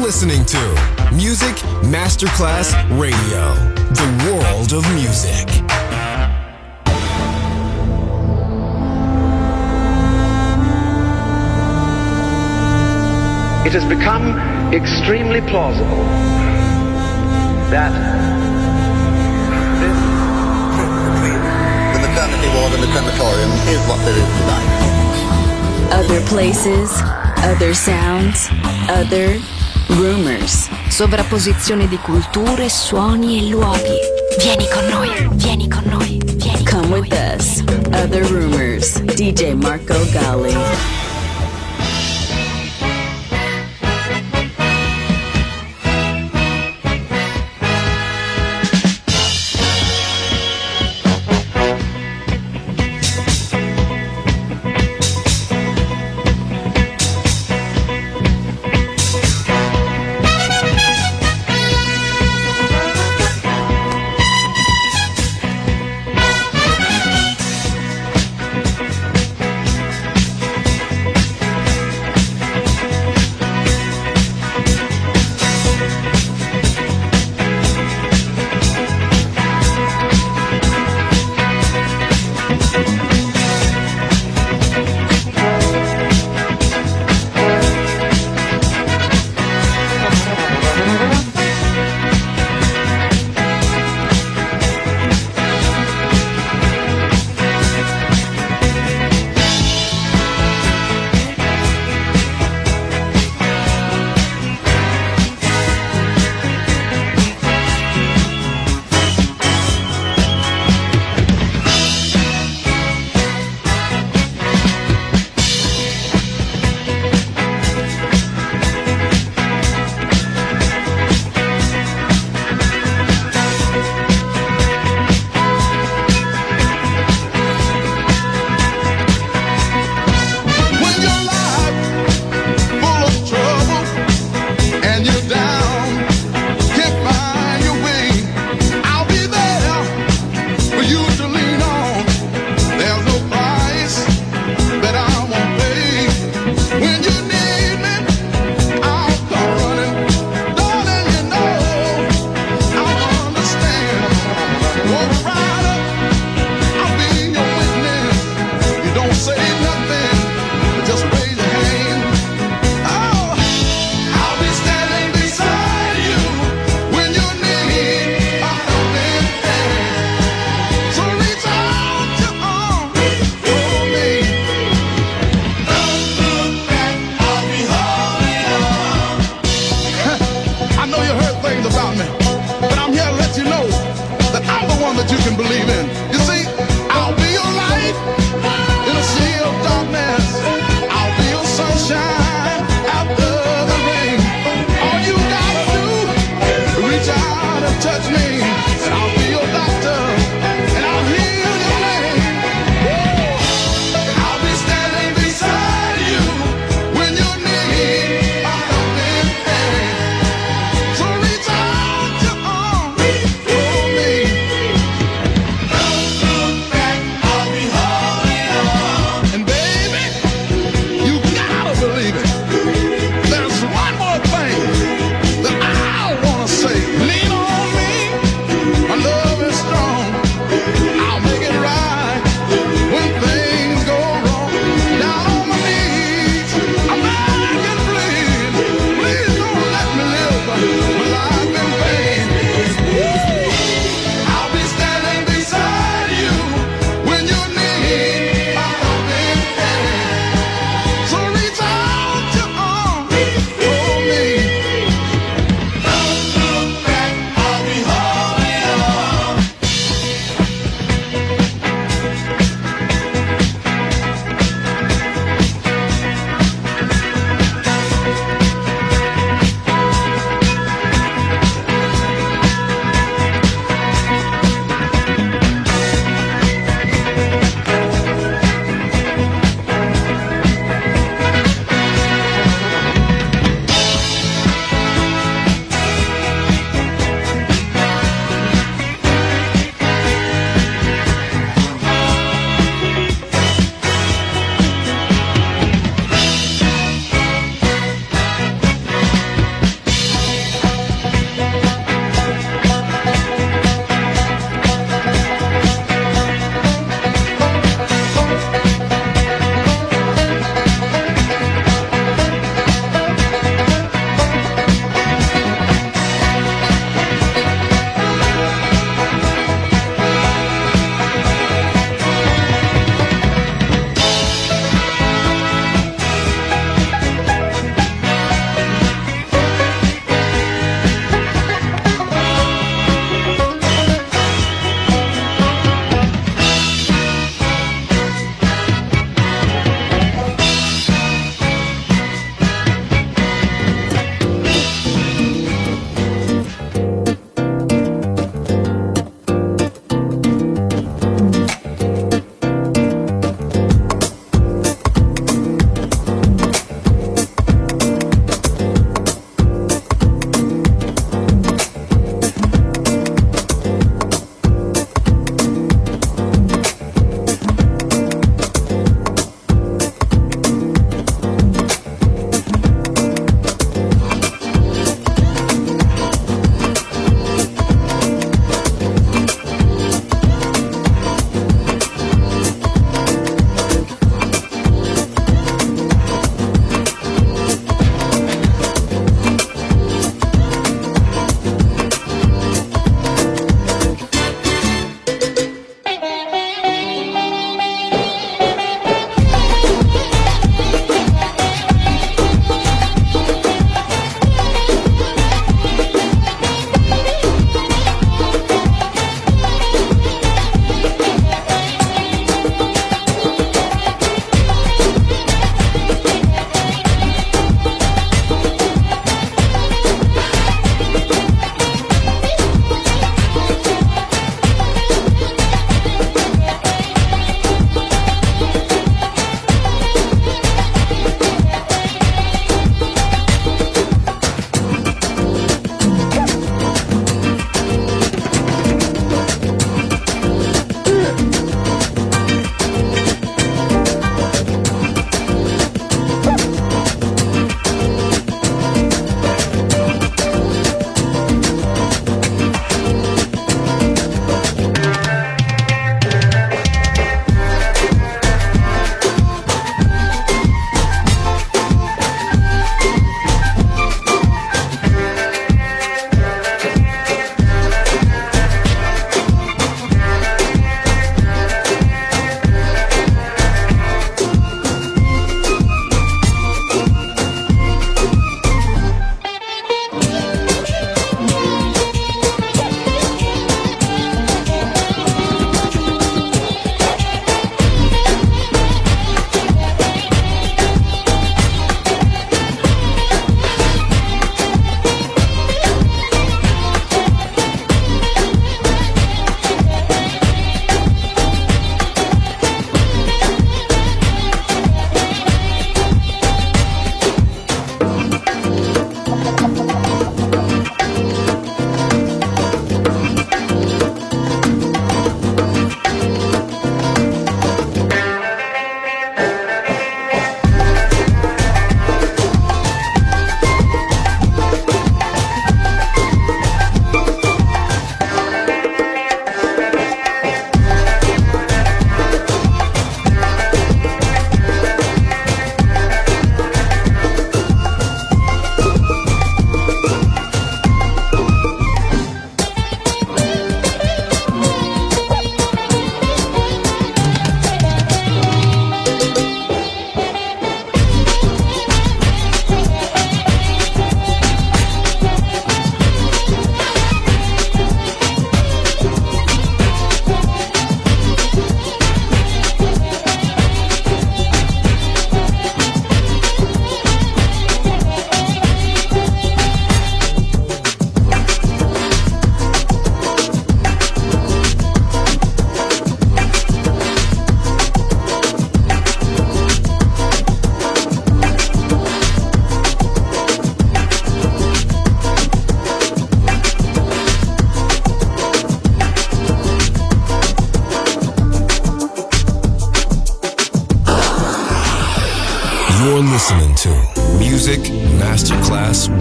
listening to Music Masterclass Radio, the world of music. It has become extremely plausible that this trip between the maternity ward and the crematorium is what there is tonight. Other places, other sounds, other rumors. Sovrapposizione di culture, suoni e luoghi. Vieni con noi, vieni con noi, vieni con Come noi. with us. Other rumors. DJ Marco Gally.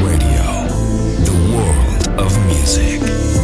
Radio, the world of music.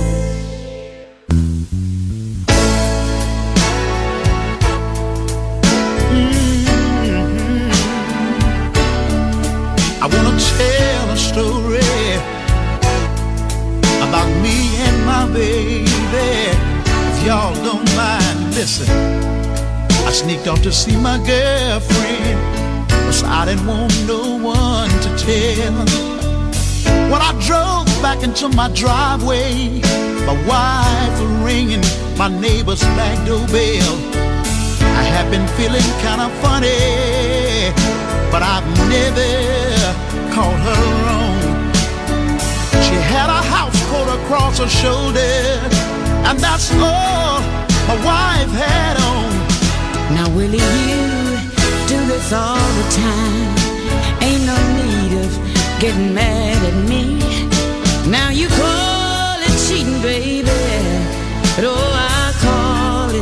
I wanna tell a story about me and my baby. If y'all don't mind, listen. I sneaked off to see my girlfriend, 'cause I didn't want no one to tell. When I drove back into my driveway, my wife was ringing my neighbor's back doorbell. I have been feeling kind of funny, but I've never caught her wrong. She had a house coat across her shoulder, and that's all my wife had on. Now Willie, you do this all the time. Ain't no need of getting mad at me. Now you call it cheating, baby, but oh, I call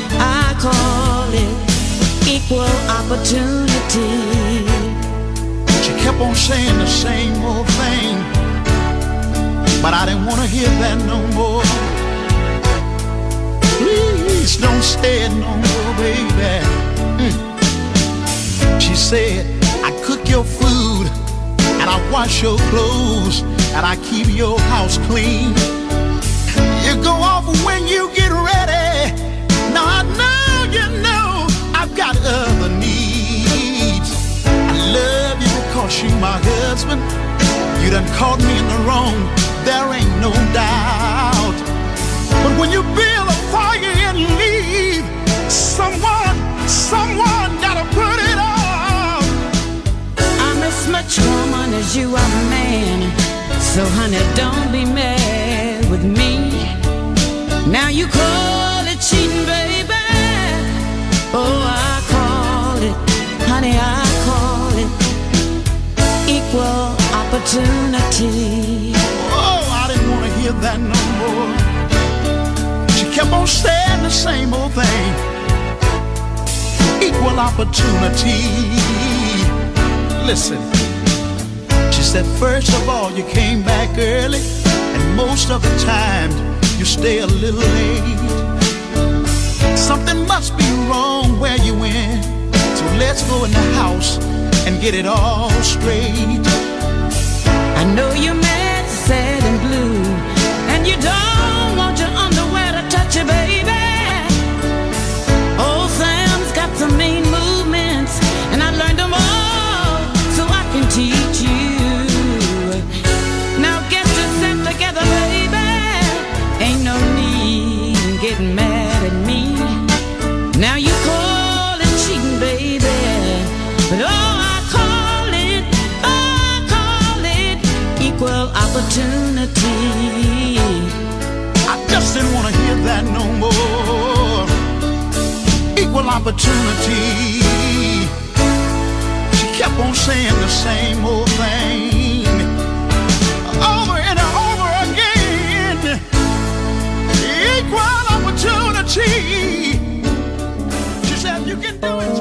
it equal opportunity. She kept on saying the same old thing, but I didn't want to hear that no more. Please don't say it no more, baby. She said, I cook your food, and I wash your clothes, and I keep your house clean. You go off when you get ready. Now I know you know I've got other needs. I love you because you're my husband. You done caught me in the wrong, there ain't no doubt. But when you build a fire and leave, someone gotta put it out. I'm as much woman as you are man, so honey, don't be mad with me. Now you call it cheating, baby. Oh, I call it, honey, I call it equal opportunity. Oh, I didn't want to hear that no more. She kept on saying the same old thing. Equal opportunity. Listen, she said, first of all, you came back early, and most of the time you stay a little late. Something must be wrong where you went, so let's go in the house and get it all straight. I know you're mad, sad and blue, and you don't want your underwear to touch you, baby. Old Sam's got some mean movements, and I learned them all so I can teach you. Now get yourself together, baby. Ain't no need in getting mad at me. Now you call it cheating, baby, but oh, I call it equal opportunity. I just didn't want to hear that no more. Equal opportunity. She kept on saying the same old thing over and over again. Equal opportunity. She said you can do it.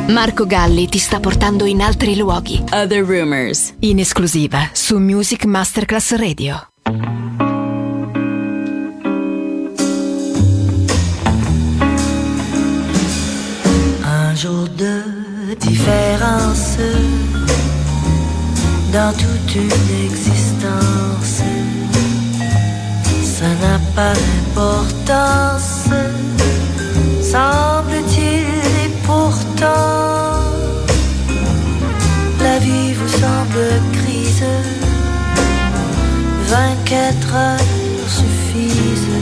Marco Galli ti sta portando in altri luoghi. Other Rumors. In esclusiva su Music Masterclass Radio. Un jour de différence dans toute une existence, ça n'a pas d'importance, semble-t-il, et pourtant la vie vous semble grise, 24 heures suffisent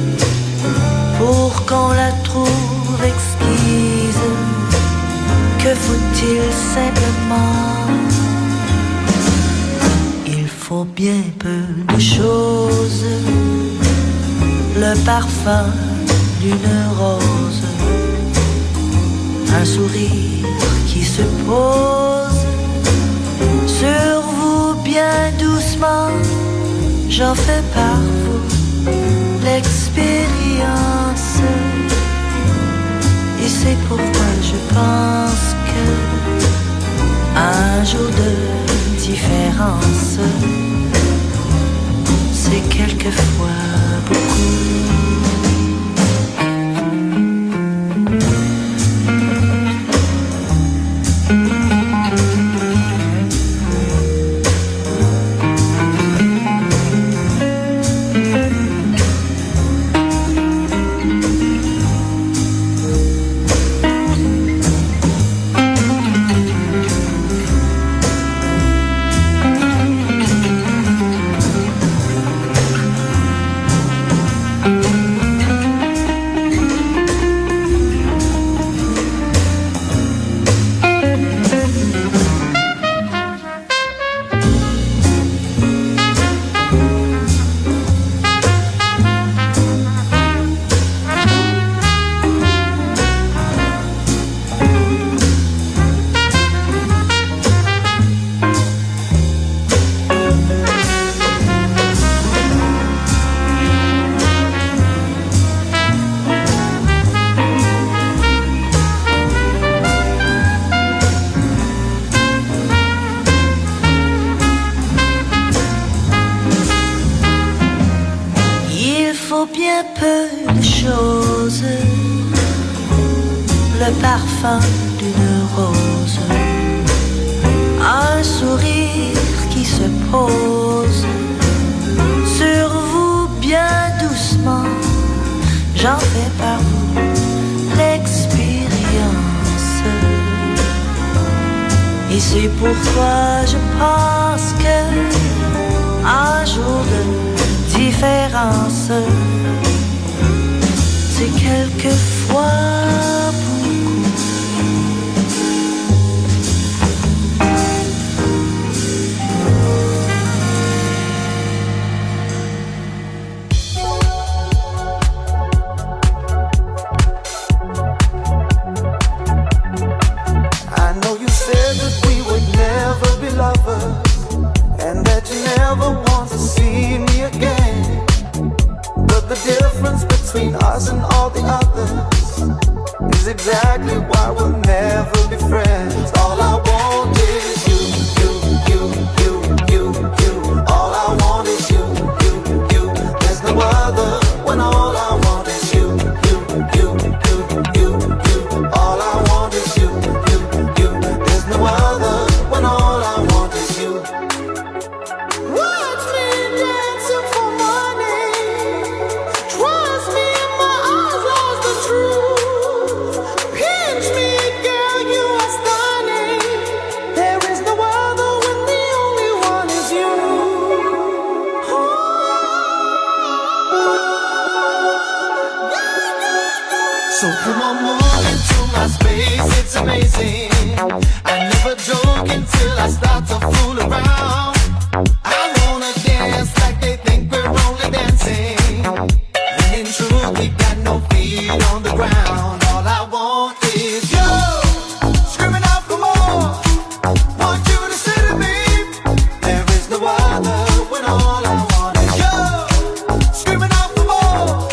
pour qu'on la trouve exquise. Que faut-il simplement? Il faut bien peu de choses, le parfum d'une rose, un sourire qui se pose sur vous bien doucement. J'en fais par vous l'expérience, et c'est pourquoi je pense que un jour de différence, c'est quelquefois beaucoup.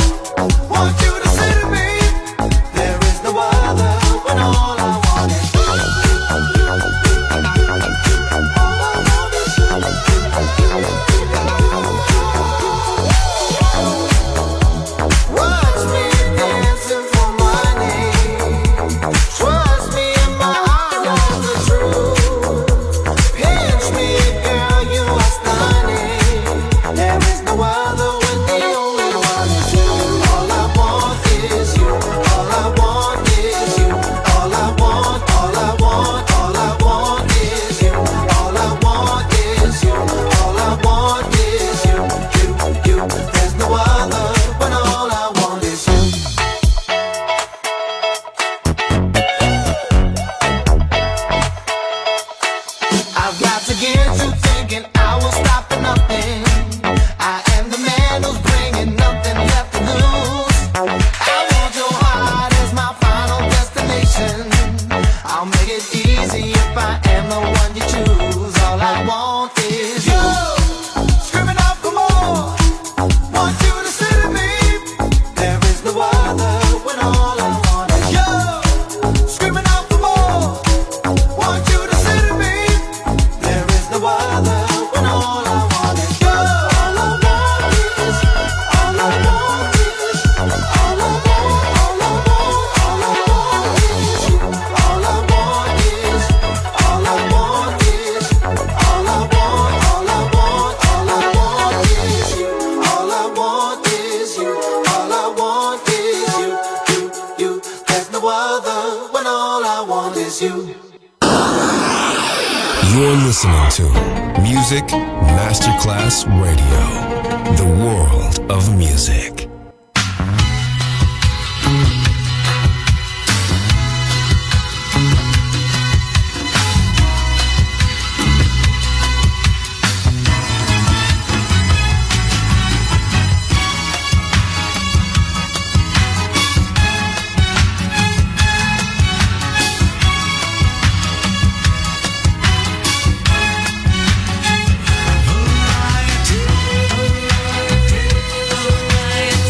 All I want is I'll make it easy if I am the one you choose. All I want is you. Screaming out for more. Want you to sit to me. There is no other when all I want is you. Screaming out for more. Want you to sit to me. There is no other when all I want is you. All I want is, all I want is, all I want, all I want, all I want is you. All I want is, all I want is, all I want, all I want, all I want is you. All I want is you. All I want is you. You. There's no other when all I want is you. You're listening to Music Masterclass Radio, the world of music. Variety.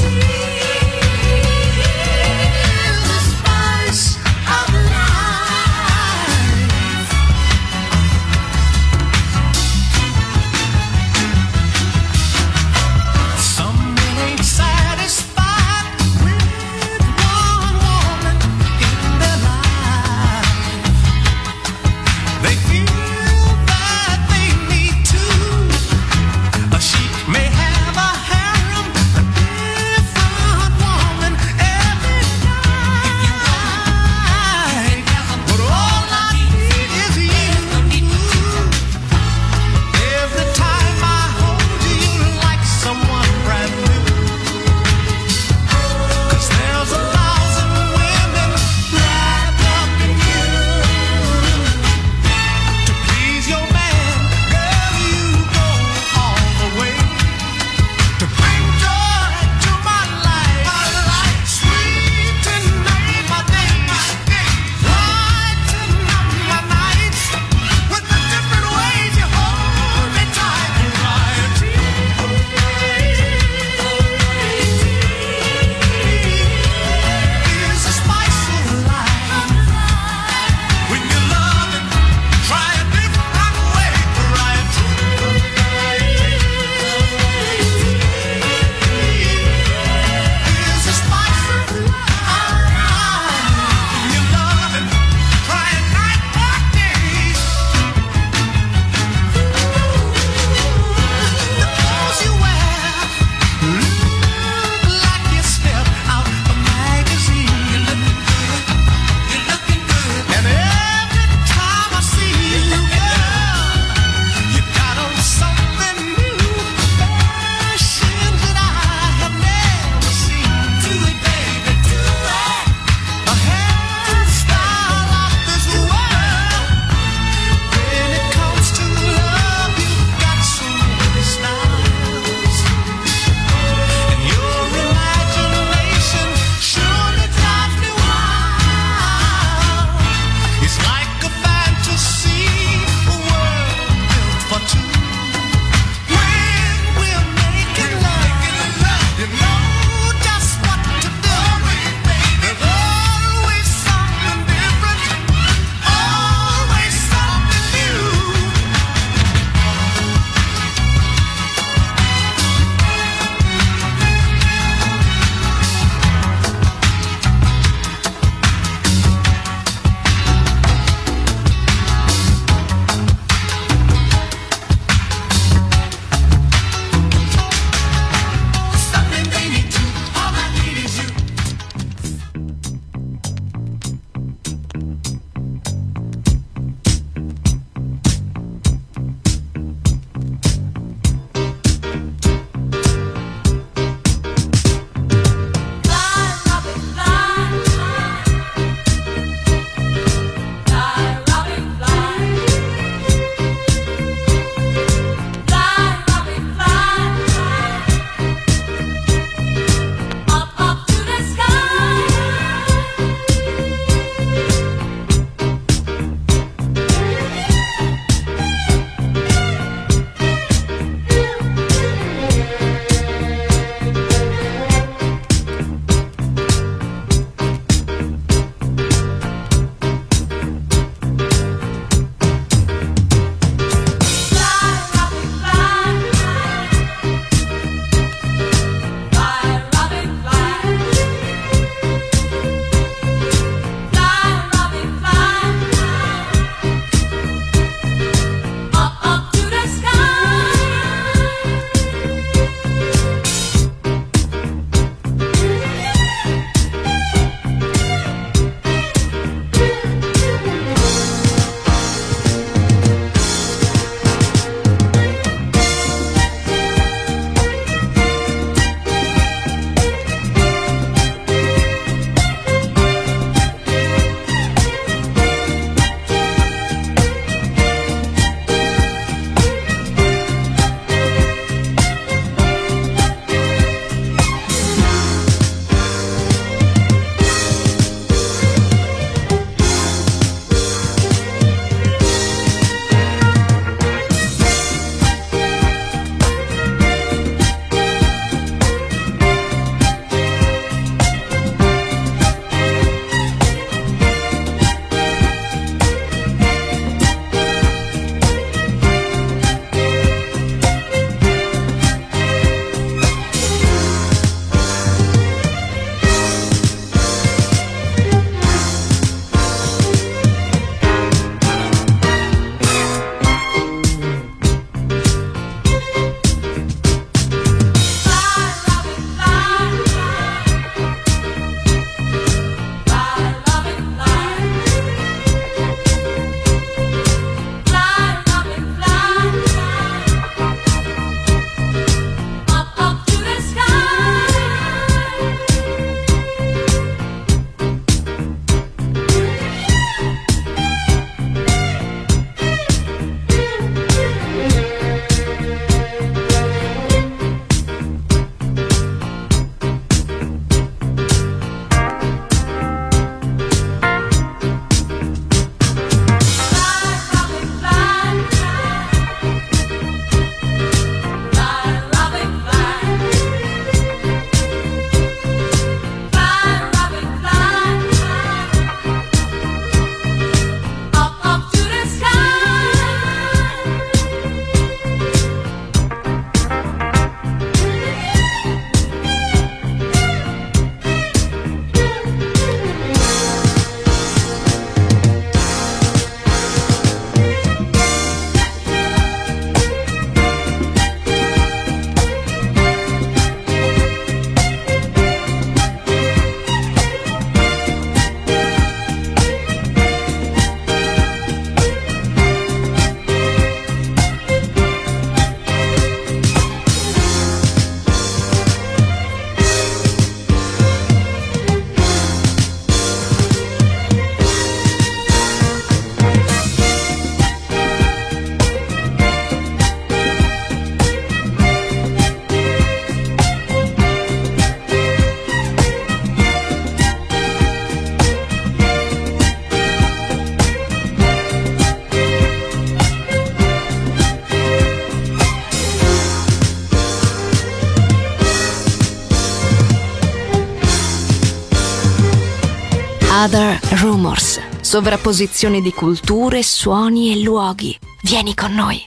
Rumors, sovrapposizione di culture, suoni e luoghi. Vieni con noi.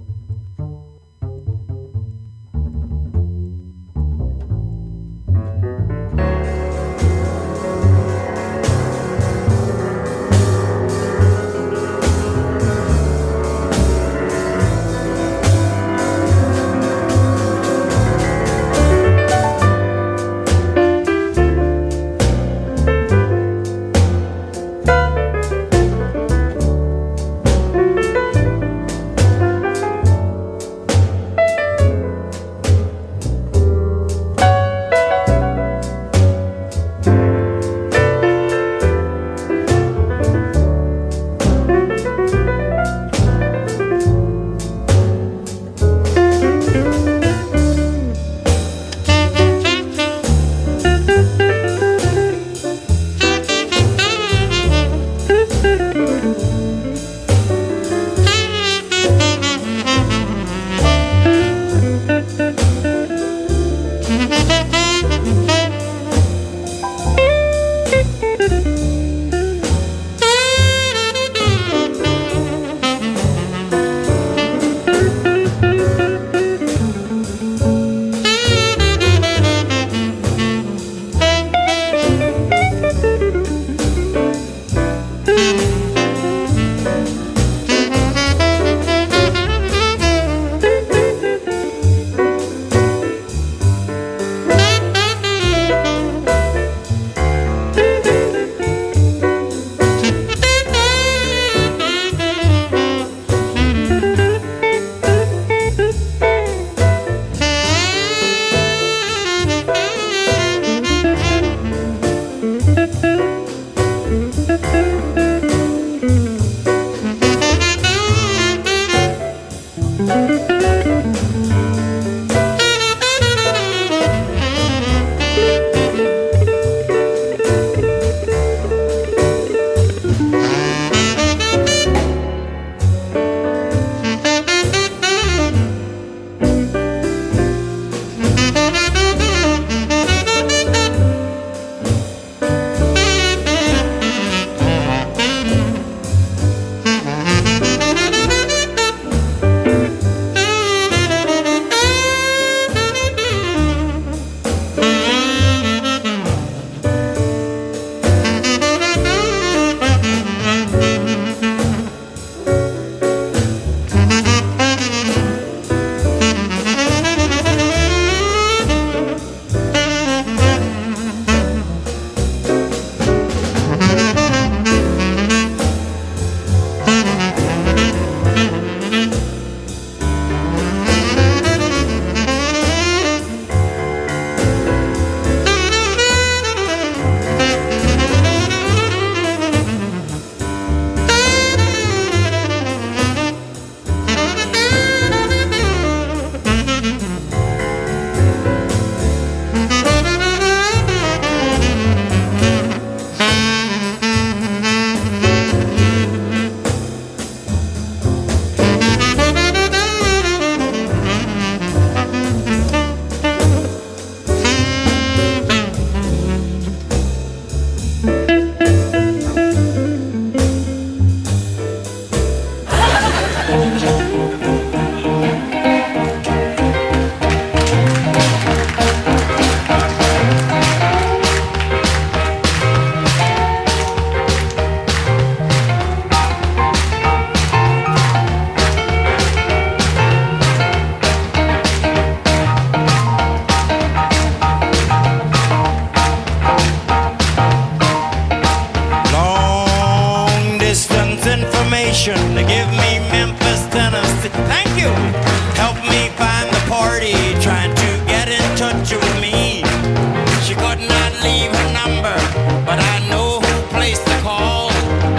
Give me Memphis, Tennessee. Thank you. Help me find the party trying to get in touch with me. She could not leave her number, but I know who placed the call.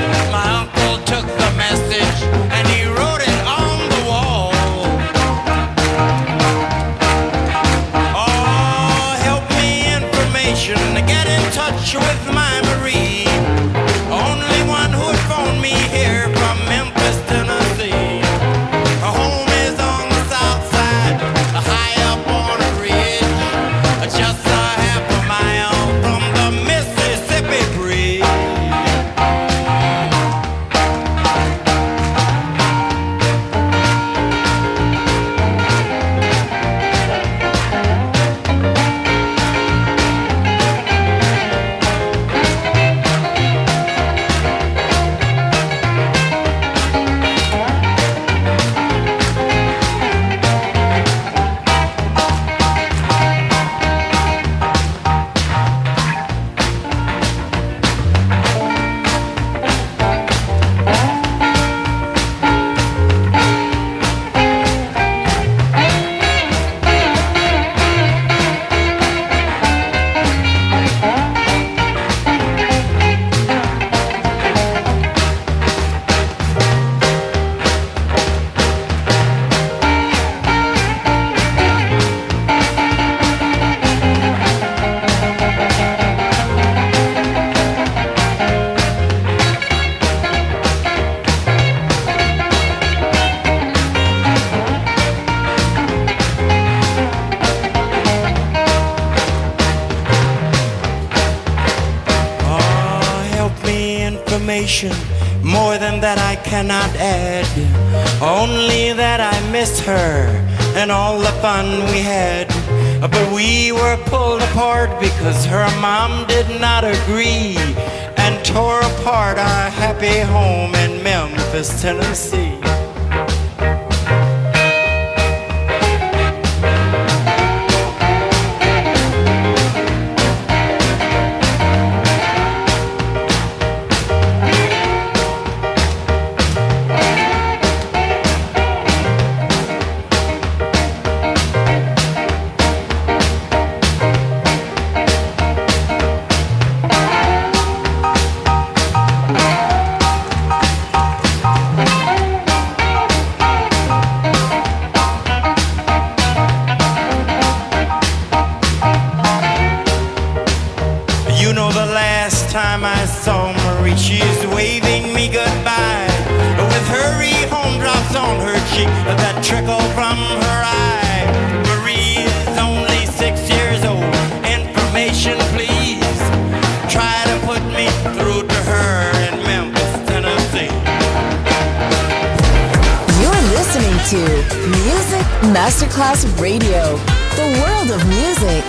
My uncle took the message and he wrote it on the wall. Oh, help me information to get in touch with my Marie. Only one who'd phone me here from Memphis, Tennessee. Home information. More than that I cannot add. Only that I miss her and all the fun we had. But we were pulled apart because her mom did not agree and tore apart our happy home in Memphis, Tennessee. Masterclass Radio, the world of music.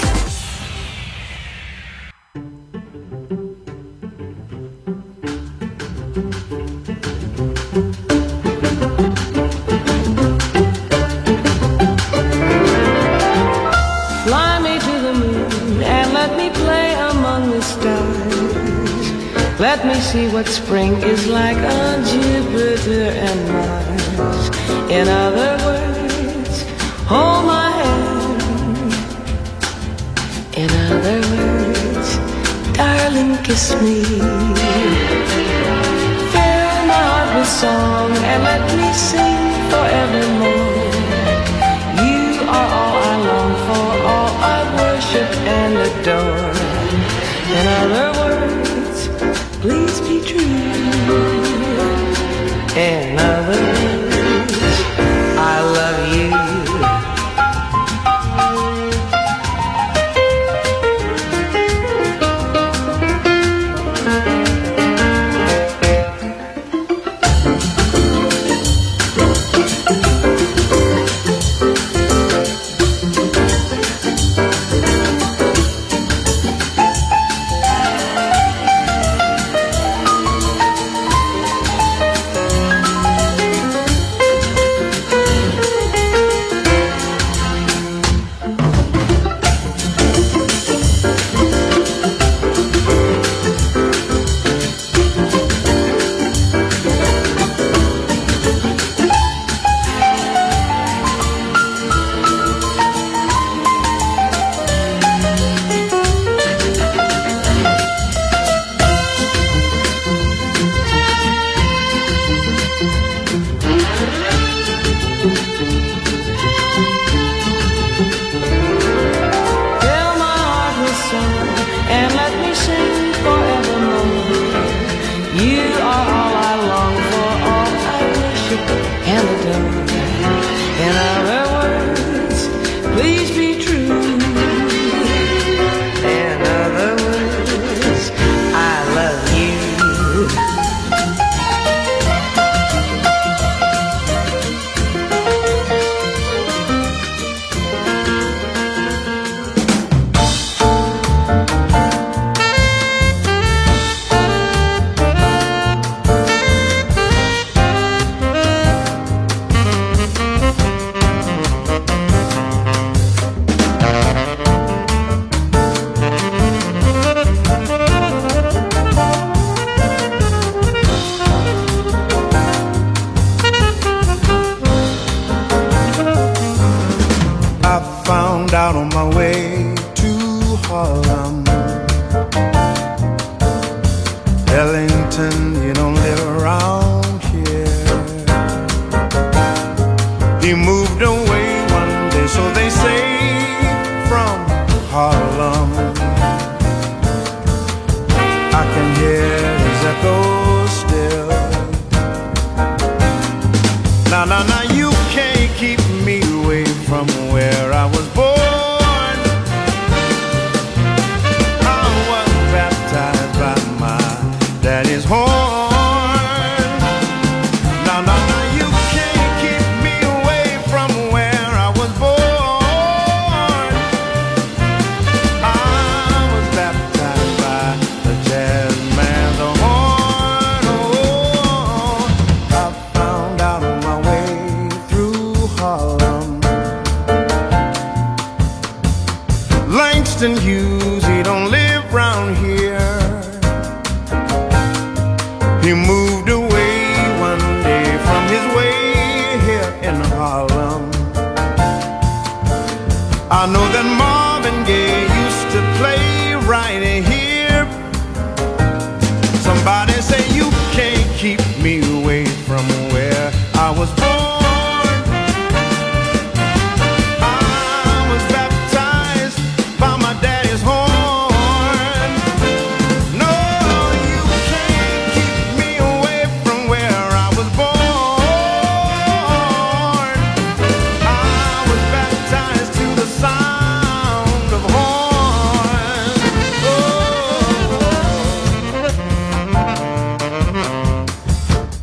Fly me to the moon and let me play among the stars. Let me see what spring is like on Jupiter and Mars. In other words, hold my hand. In other words, darling, kiss me. Fill my heart with song and let me sing forevermore. You are all I long for, all I worship and adore. In other words, please be true. In other words, I love you.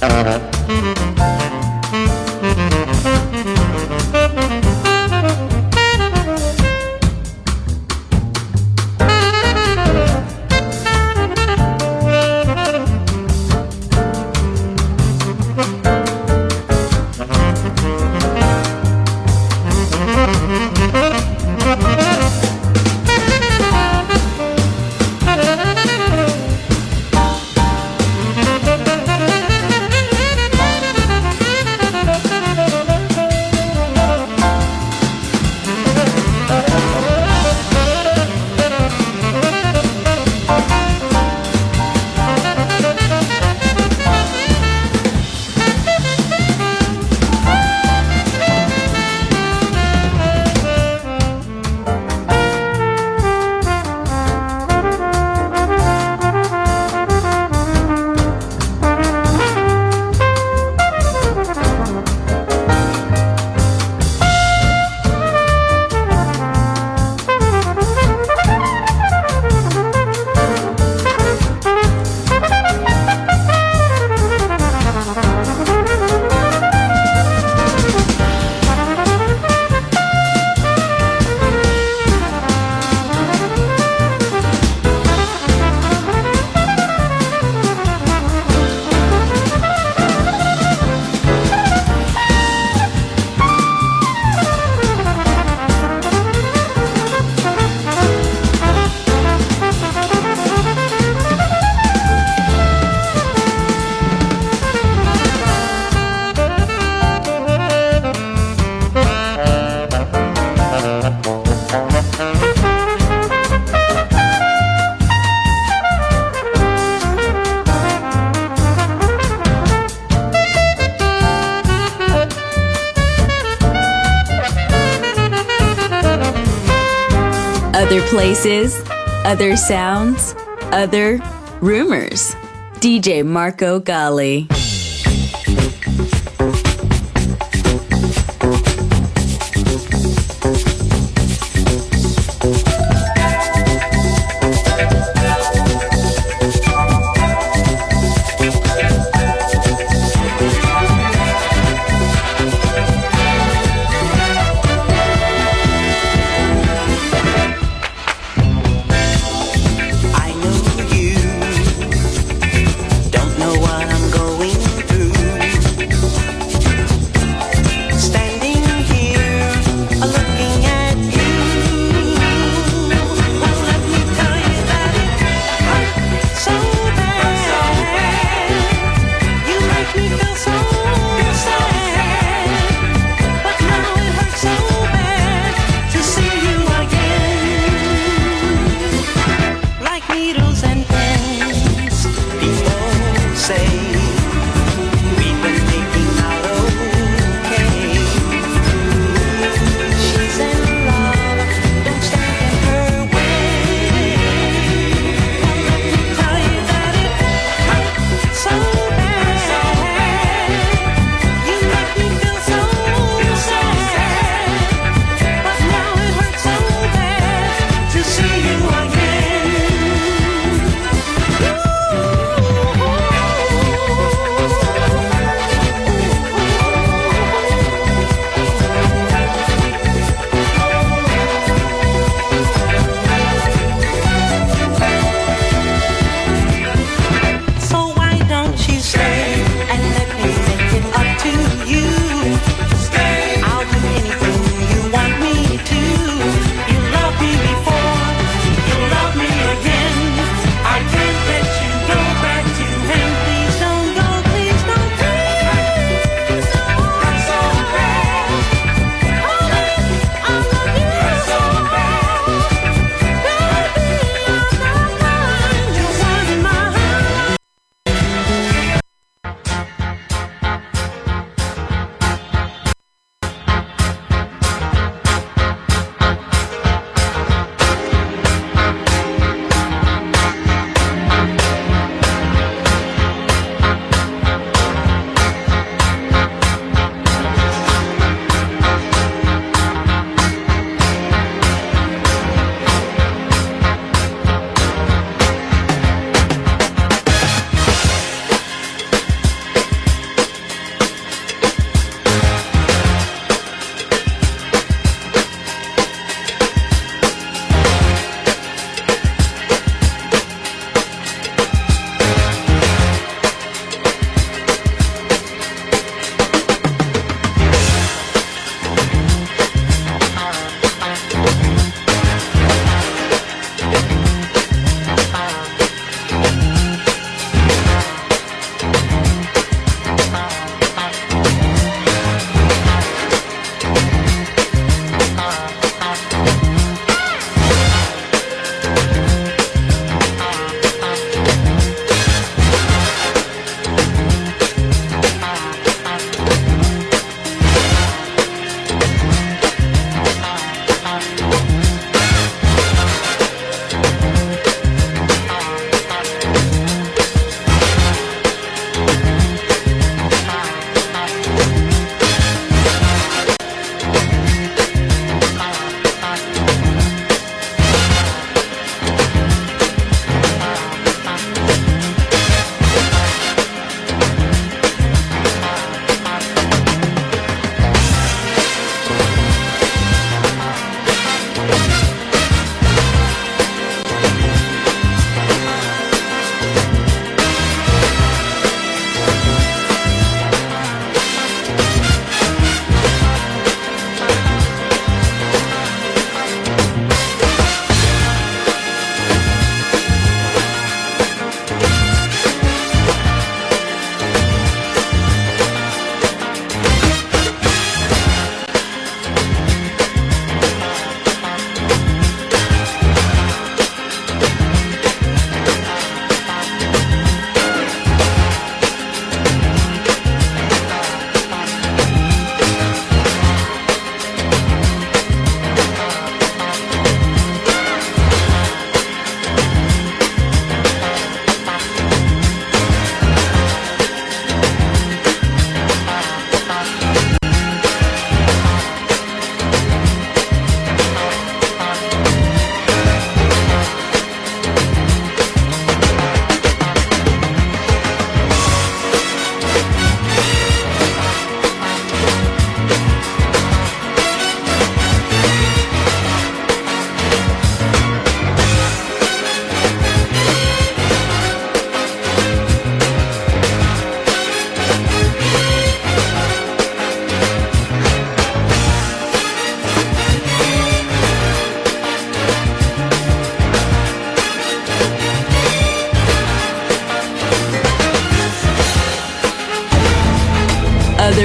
Other places, other sounds, other rumors. DJ Marco Gally. Don't know what I'm going through.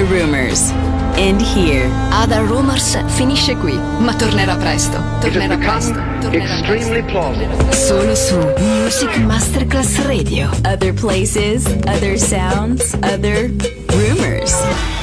Rumors. End here. Other Rumors finisce qui, ma tornerà presto. Tornerà presto. Extremely plausible. Solo su Music Masterclass Radio. Other places, other sounds, other rumors.